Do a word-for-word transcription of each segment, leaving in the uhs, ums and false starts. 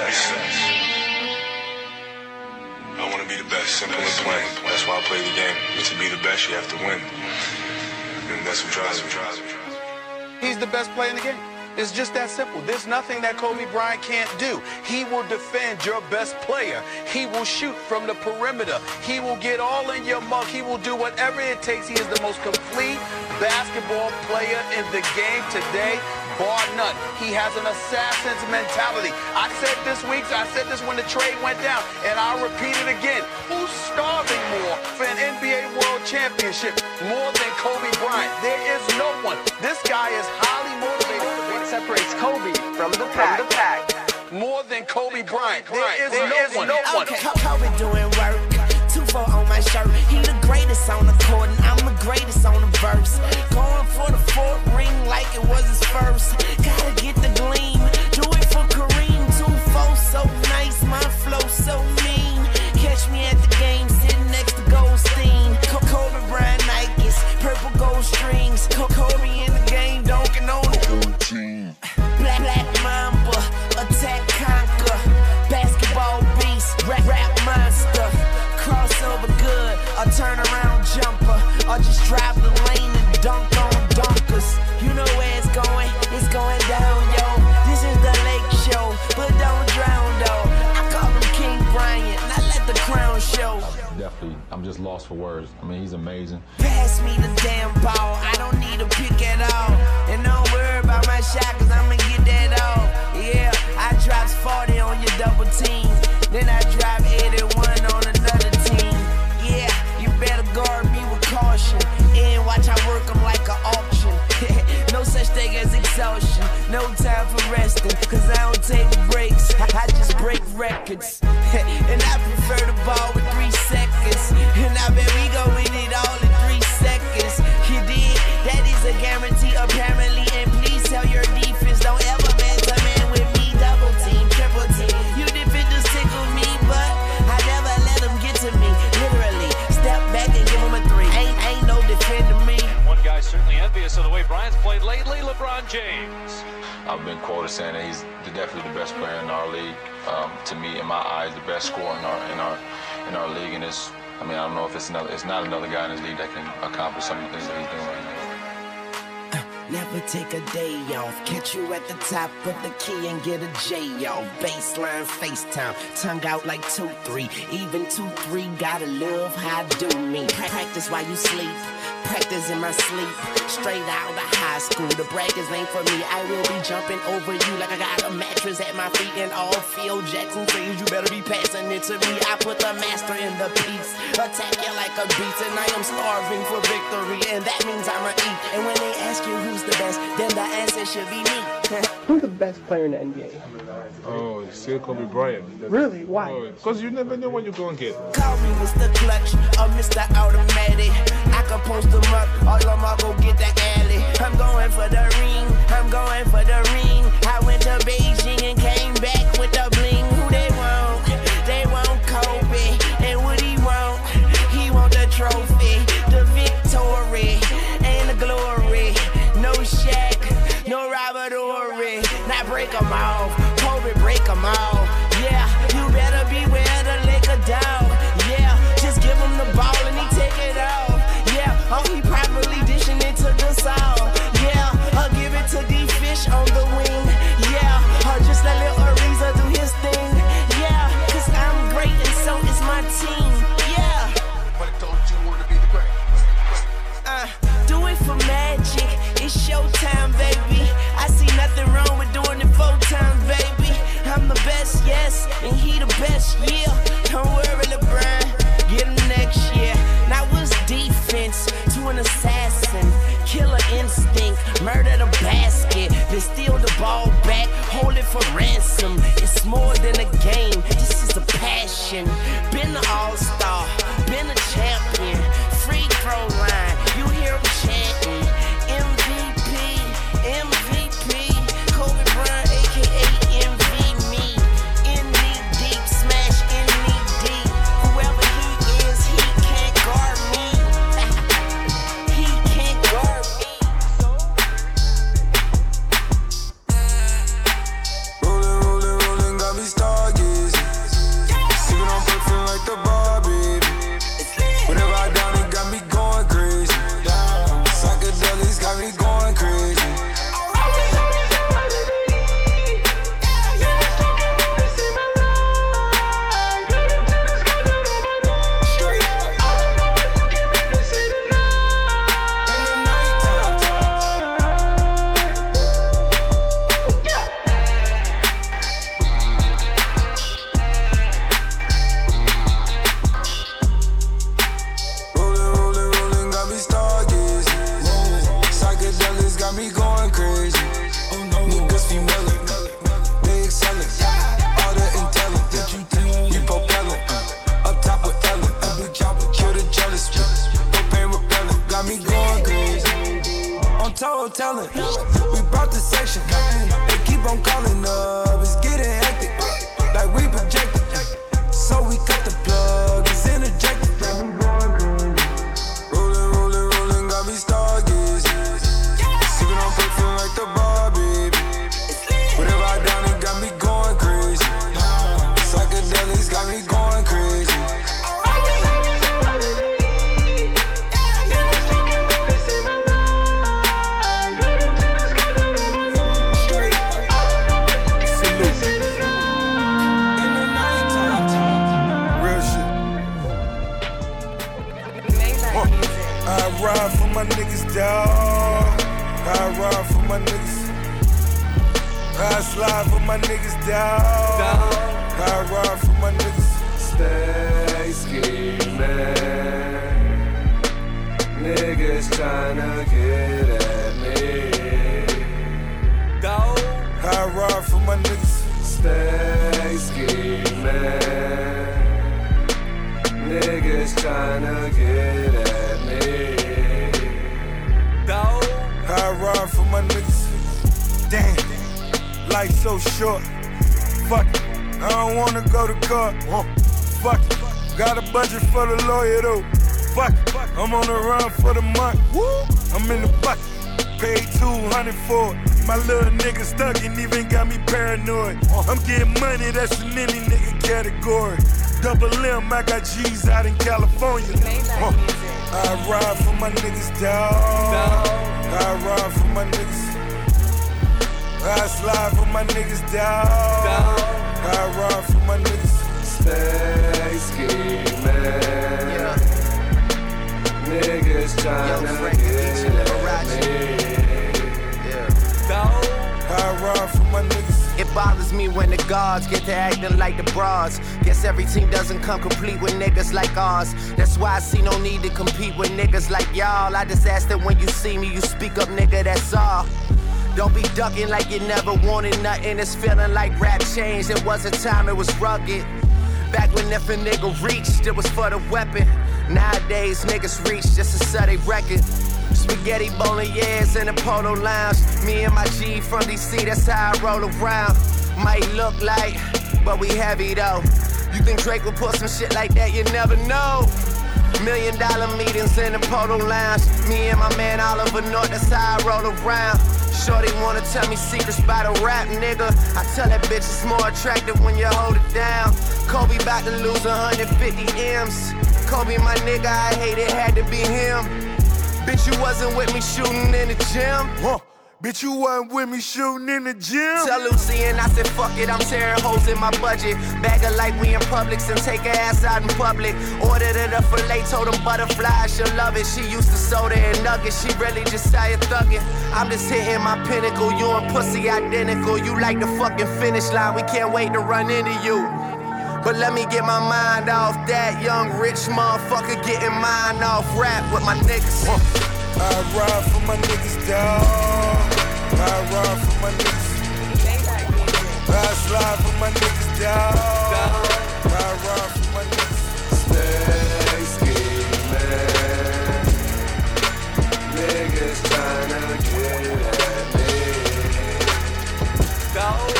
best. I want to be the best, simple and plain. That's why I play the game. And to be the best, you have to win. And that's what drives me. He's the best player in the game. It's just that simple. There's nothing that Kobe Bryant can't do. He will defend your best player. He will shoot from the perimeter. He will get all in your mug. He will do whatever it takes. He is the most complete basketball player in the game today, bar none. He has an assassin's mentality. I said this week, I said this when the trade went down, and I'll repeat it again. Who's starving more for an N B A World Championship more than Kobe Bryant? There is no one. This guy is highly motivated. What separates Kobe from the pack? From the pack. More than Kobe Bryant. There is there no is one. No one. Okay. Kobe doing work. Two four on my shirt. He the greatest on the court, and I'm the greatest on the verse. Going for the fourth ring like it was his first. Gotta get the gleam. Do it for Kareem. Two four so nice, my flow so mean. Catch me at the game, sitting next to Goldstein. Kobe Bryant Nikes, purple gold strings. Kobe in the game, dunking on the team. Black Black Mamba, attack conquer. Basketball beast, rap rap monster. Crossover good, a turnaround jumper, or just drive the lane and dunk on dunkers. You know where it's going, it's going down, yo. This is the Lake Show, but don't drown, though. I call him King Bryant, not let the crown show. Definitely, I'm just lost for words. I mean, he's amazing. Pass me the damn ball, I don't need a pick at all. And don't worry about my shot, cause I'ma get that off. Yeah, I drops forty on your double team. Then I drop eighty-one on another team. Yeah, you better guard me with caution. And watch I work them like an auction. No such thing as exhaustion. No time for resting, cause I don't take breaks. I just break records. And I prefer the ball with three seconds. And I bet we go win it all in three seconds. You did? That is a guarantee apparently. And please tell your defense, don't ever man to man with me. Double team, triple team. You defenders tickle me, but I never let them get to me. Literally, step back and give them a three. Ain't, ain't no defending me. One guy's certainly envious of the way Bryant's played lately, LeBron James. I've been quoted saying that he's definitely the best player in our league. Um, to me, in my eyes, the best scorer in our in our in our league. And it's, I mean, I don't know if it's another, it's not another guy in this league that can accomplish some of the things that he's doing right now. Never take a day off. Catch you at the top of the key and get a J off. Baseline FaceTime, tongue out like two three. Even two three gotta love how I do me. Practice while you sleep. Practice in my sleep. Straight out of high school. The brackets ain't for me. I will be jumping over you like I got a mattress at my feet. And all Phil Jackson says you better be passing it to me. I put the master in the piece. Attack you like a beast. And I am starving for victory. And that means I'ma eat. And when they ask you who's the best, then the answer should be me. Who's the best player in the N B A? Oh, it's still Kobe Bryant. Really? Why? Because oh, you never know what you're going to get. Call me Mister Clutch or Mister Automatic. I can post them up, all of them all go get the alley. I'm going for the ring, I'm going for the ring. I went to Beijing and came back with the bling. Who they want? They want Kobe. And what he want? He want the trophy, the victory, and the glory. No Shaq, no Robert Horry. Now break them off, Kobe break them off. Yeah, you better beware the Laker dog. Yeah, just give him the ball and he take it off. Yeah, oh he probably dishing it to the soul. Yeah, I'll give it to D-Fish on the wing. Yeah, or just let Lil Ariza do his thing. Yeah, cause I'm great and so is my team. Yeah. But I told you want to be the greatest. Uh, do it for magic. It's showtime, baby. I see nothing wrong with doing it four times, baby. I'm the best, yes, and he the best, yeah. Don't worry, LeBron, get him next year. Now what's defense to an assassin? Killer instinct, murder the basket, then steal the ball back, hold it for ransom. It's more than a game, this is a passion. Been an all-star, been a champion. Free throw line, you hear him chanting. M V P, M V P, Kobe Bryant, A K A M V me. In knee deep, smash in knee deep. Whoever he is, he can't guard me. He can't guard me. Rolling, rolling, rolling, got me started. calling up, it's getting hectic. Like we projected, so we cut the plug, it's interjected. Rolling, rolling, rolling, got me stargazing. Sipping on paper like the bar, baby. Whatever I done, it got me going crazy. Psychedelics got me going crazy. I ride for my niggas, dawg. I ride for my niggas. I slide for my niggas, dawg. I ride for my niggas. Stay scheming. Niggas tryna get at me. Dawg. I ride for my niggas. Stay scheming. Niggas tryna get at me. Dawg. I ride for my niggas. Damn, life so short. Fuck it, I don't wanna go to court. Fuck it, got a budget for the lawyer though. Fuck it, I'm on the run for the month. I'm in the bucket, paid two hundred for it. My little nigga stuck and even got me paranoid. I'm getting money, that's in any nigga category. Double M, I got G's out in California. Uh, I ride for my niggas, dawg. I ride for my niggas. I slide for my niggas, dawg. I ride for my niggas. Stay scheming. Yeah. Niggas tryna get at me. Yeah. Dawg. I ride for my niggas. It bothers me when the guards get to acting like the bras. Guess every team doesn't come complete with niggas like ours. That's why I see no need to compete with niggas like y'all. I just ask that when you see me, you speak up, nigga, that's all. Don't be ducking like you never wanted nothing. It's feeling like rap changed. It was a time it was rugged. Back when if a nigga reached, it was for the weapon. Nowadays, niggas reach just to sell they record. Spaghetti bolognese in the Polo Lounge. Me and my G from D C, that's how I roll around. Might look like, but we heavy though. You think Drake would put some shit like that? You never know. Million dollar meetings in the Polo Lounge. Me and my man Oliver North, that's how I roll around. Shorty wanna tell me secrets about a rap, nigga. I tell that bitch it's more attractive when you hold it down. Kobe bout to lose one hundred fifty M's. Kobe my nigga, I hate it, had to be him. Bitch, you wasn't with me shooting in the gym. Huh. Bitch, you wasn't with me shooting in the gym. Tell Lucy and I said, fuck it, I'm tearing holes in my budget. Bag her like we in Publix and take her ass out in public. Ordered her the filet, told them butterflies, she'll love it. She used to soda and nuggets, she really just tired thugging. I'm just hitting my pinnacle, you and pussy identical. You like the fucking finish line, we can't wait to run into you. But let me get my mind off that young rich motherfucker getting mine off rap with my niggas. Uh, I ride for my niggas, dawg. I ride for my niggas. I slide for my niggas, dawg. I ride for my niggas. Stay scheming. Niggas tryna get at me. Dawg.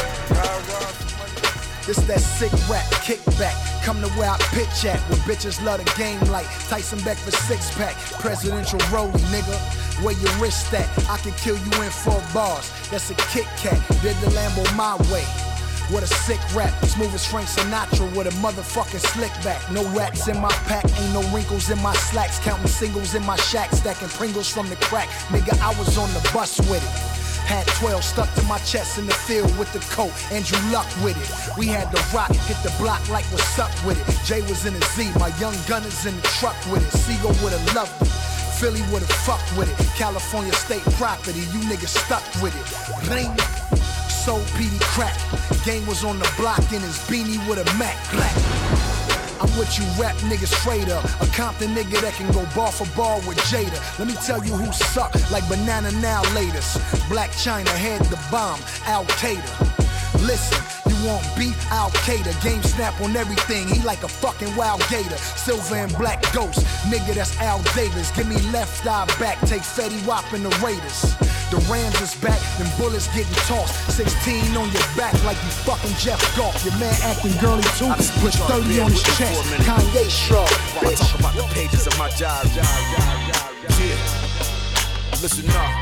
This that sick rap, kickback. Come to where I pitch at, where bitches love the game like Tyson Beck for six pack. Presidential rollie, nigga. Where your wrist at? I can kill you in four bars. That's a Kit Kat. Did the Lambo my way. What a sick rap, smooth as Frank Sinatra with a motherfucking slick back. No rats in my pack, ain't no wrinkles in my slacks. Counting singles in my shack, stacking Pringles from the crack. Nigga, I was on the bus with it. Had twelve stuck to my chest in the field with the coat. Andrew Luck with it. We had the rock, hit the block like what's up with it. Jay was in a Z, my young gunners in the truck with it. Seagull would've loved it. Philly would've fucked with it. California state property, you niggas stuck with it. Bling. Sold P D crack. Game was on the block in his beanie with a Mac black. I'm with you rap niggas straight up. A Compton nigga that can go bar for bar with Jada. Let me tell you who suck like Banana Now latest. Black China had the bomb, Al Qaeda. Listen, you want beef? Al Qaeda. Game snap on everything. He like a fucking wild gator. Silver and black ghost. Nigga, that's Al Davis. Give me left eye back. Take Fetty Wap and the Raiders. The Rams is back, them bullets getting tossed. sixteen on your back like you fucking Jeff Goff. Your man acting girly too. Put thirty on his chest. Kanye shrug. While I talk about the pages of my diary. Yeah. Listen up.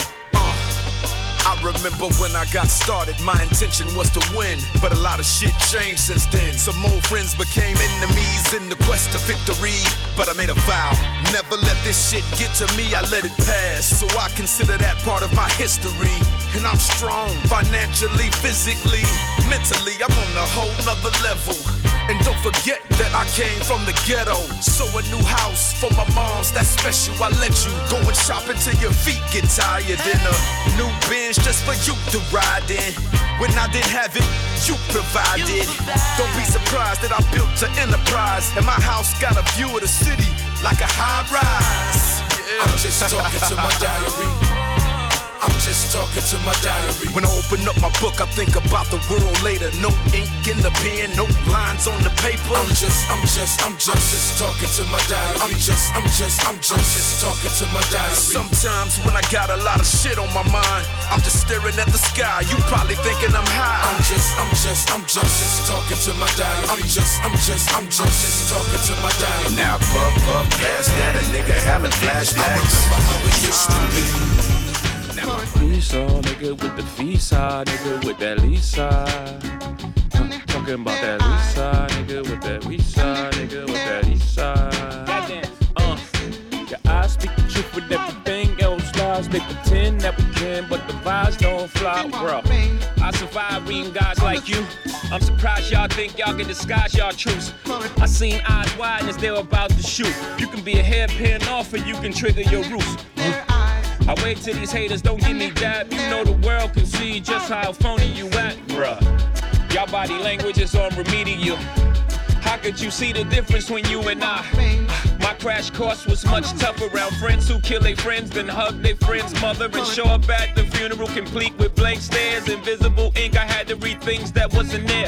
I remember when I got started, my intention was to win. But a lot of shit changed since then. Some old friends became enemies in the quest to victory. But I made a vow, never let this shit get to me, I let it pass. So I consider that part of my history. And I'm strong, financially, physically, mentally, I'm on a whole nother level. And don't forget that I came from the ghetto. So a new house for my moms, that's special. I let you go and shop until your feet get tired. And a new Benz just for you to ride in. When I didn't have it, you provided. Don't be surprised that I built an enterprise. And my house got a view of the city like a high rise. Yeah. I'm just talking to my diary. I'm just talking to my diary. When I open up my book, I think about the world later. No ink in the pen, no lines on the paper. I'm just, I'm just, I'm just, I'm just talking to my diary. I'm just, I'm just, I'm just, I'm just talking to my diary. Sometimes when I got a lot of shit on my mind, I'm just staring at the sky. You probably thinking I'm high. I'm just, I'm just, I'm just, just talking to my diary. I'm just, I'm just, I'm just, just talking to my diary. Now fuck, fuck, past that, a nigga having flashbacks. I remember how it used to be. Visa, nigga with the visa, nigga with that Lisa. I'm talking about that Lisa, nigga with that Lisa, nigga with that Lisa. Goddamn, uh, yeah, I speak the truth with everything else lies. They pretend that we can, but the vibes don't fly, bro. I survive reading guys like you. I'm surprised y'all think y'all can disguise y'all truths. I seen eyes wide as they were about to shoot. You can be a hairpin off and you can trigger your roots. I wait till these haters don't give me dab. You know the world can see just how phony you act, bruh. Y'all body language is on remedial. How could you see the difference when you and I? My crash course was much tougher around friends who kill their friends, then hug their friend's mother and show up at the funeral complete with blank stares, invisible ink. I had to read things that wasn't there.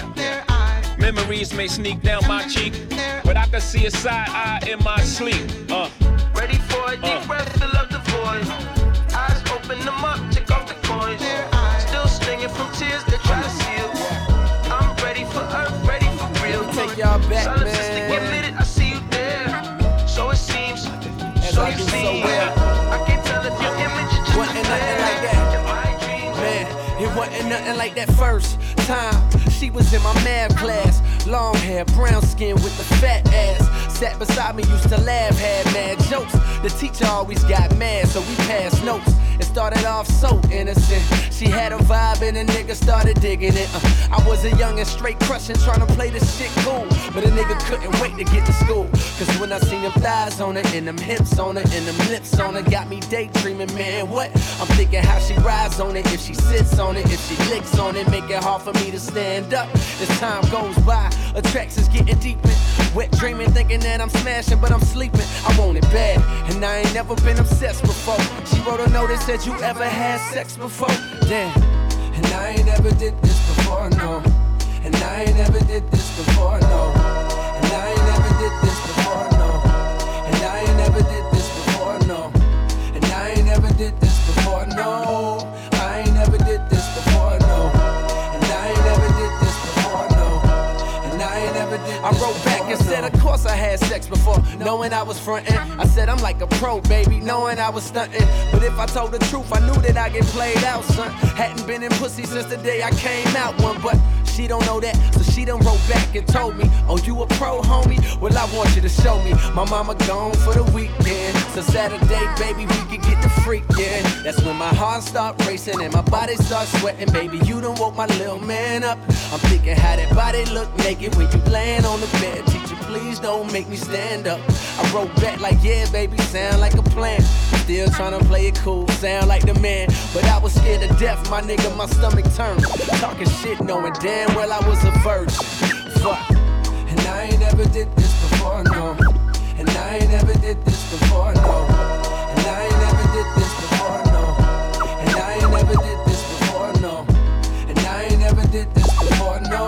Memories may sneak down my cheek, but I could see a side eye in my sleep. Uh. Ready for a deep uh. breath, fill up the void. Eyes open them up, check off the coins. Still stinging from tears that try to seal. I'm ready for earth, ready for real. Take y'all back, Silence man. is to get lit, I see you there. So it seems, As so I you do see. so well. I can't tell if your image is just wasn't nothing like that. Man, it wasn't nothing like that first time. She was in my math class. Long hair, brown skin with the fat ass. Sat beside me, used to laugh, had mad jokes. The teacher always got mad, so we passed notes. It started off so innocent. She had a vibe and a nigga started digging it. Uh, I was a young and straight crushing, trying to play this shit cool. But a nigga couldn't wait to get to school. Cause when I seen them thighs on her, and them hips on her, and them lips on her, got me daydreaming, man, what? I'm thinking how she rides on it, if she sits on it, if she licks on it, make it hard for me to stand up. As time goes by, attractions getting deeper. Wet dreaming, thinking that I'm smashing, but I'm sleeping. I want it bad, and I ain't never been obsessed before. She wrote a note that said, you ever had sex before? Damn, and I ain't never did this before, no. And I ain't never did this before, no. And I ain't never did this before, no. And I ain't never did this before, no. And I ain't never did this before, no. I ain't never did this before, no. And I ain't never did this before, no. And I ain't never did this I wrote back and said, of course I had sex before, knowing I was frontin'. I said I'm like a pro, baby, knowing I was stuntin'. But if I told the truth, I knew that I get played out, son. Hadn't been in pussy since the day I came out one, but she don't know that, so she done wrote back and told me, oh, you a pro, homie? Well, I want you to show me. My mama gone for the weekend, so Saturday, baby, we can get the freakin'. That's when my heart start racing and my body start sweating, baby, you done woke my little man up. I'm thinking how that body look naked when you laying on the bed. Teacher, please don't make me stand up. I wrote back like, yeah, baby, sound like a plan. Still tryna play it cool, sound like the man. But I was scared to death, my nigga, my stomach turned. Talking shit, knowing damn well I was a virgin. Fuck. And I ain't never did this before, no. And I ain't never did this before, no. And I ain't never did this before, no. And I ain't never did this before, no. And I ain't never did this before, no.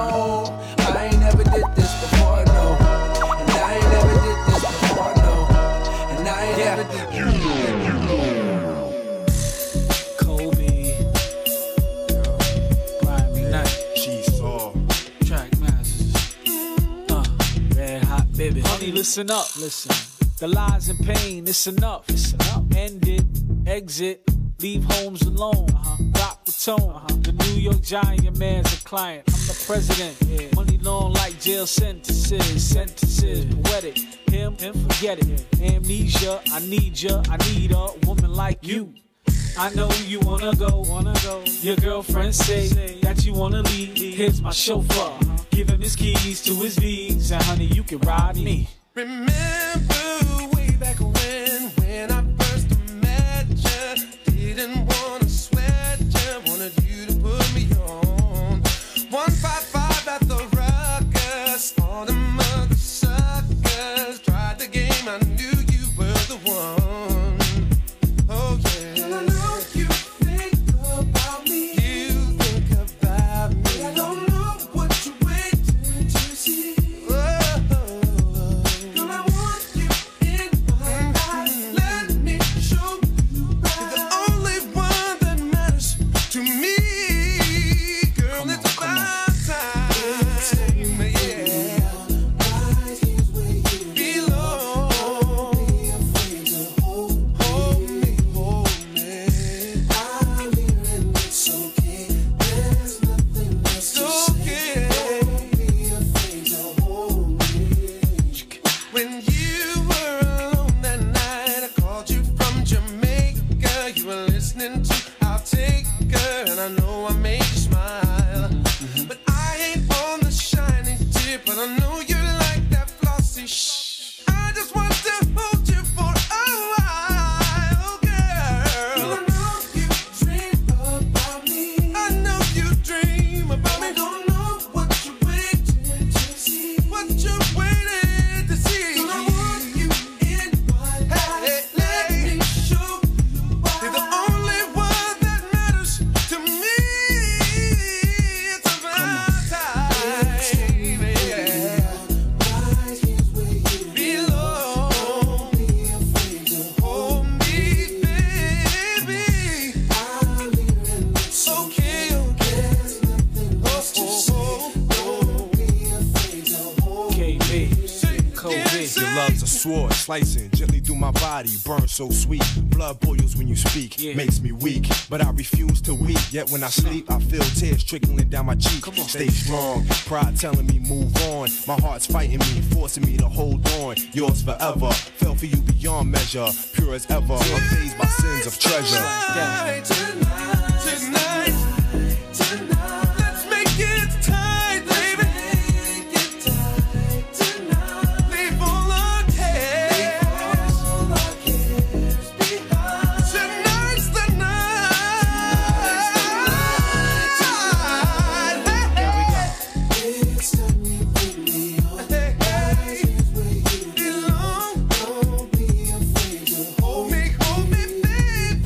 Hey, listen up, listen. The lies and pain, it's enough. It's enough. End it, exit, leave homes alone. Uh-huh. Rock the tone. Uh-huh. The New York Giant man's a client. I'm the president. Yeah. Money long like jail sentences. Sentences, poetic. Him, him, forget it. Yeah. Amnesia, I need ya. I need a woman like you. I know you wanna go, wanna go. Your girlfriend say that you wanna leave. Here's my chauffeur. Uh-huh. Give him his keys to his V's, and honey, you can ride me. Remember way back when, when I first met you, didn't wanna sweat you, wanted you to put me on. one five five at the Ruckus, all the mother suckers tried the game, I knew you were the one. Oh yeah. And I know you think about me. You think about me. I don't know what you're waiting to see. Sword slicing gently through my body, burn so sweet. Blood boils when you speak, yeah. Makes me weak, but I refuse to weep. Yet when I sleep, I feel tears trickling down my cheek. On, Stay baby. strong, pride telling me move on. My heart's fighting me, forcing me to hold on. Yours forever, fell for you beyond measure. Pure as ever, unfazed by sins of treasure. Tonight, tonight, tonight, tonight, let's make it tight, baby. Make it tight tonight. Leave all our cares, all our cares behind. Tonight's the night. Here we go. It's time you bring me on. Hey, hey, here's where you belong. Don't be afraid to hold me, hold me, baby.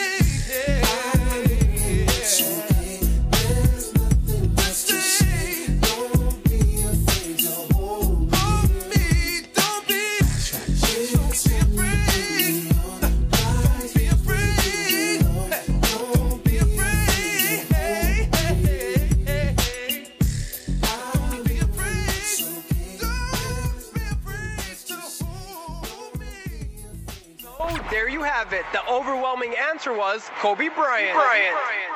It's okay. There's nothing else to say. Don't be afraid to hold me. Hold me, don't be, don't be afraid. Don't be afraid. Don't be afraid. Hey, hey, hey, hey, hey. Don't be afraid. Don't be afraid to hold me. Oh, there you have it. The overwhelming answer was Kobe Bryant. Bryant.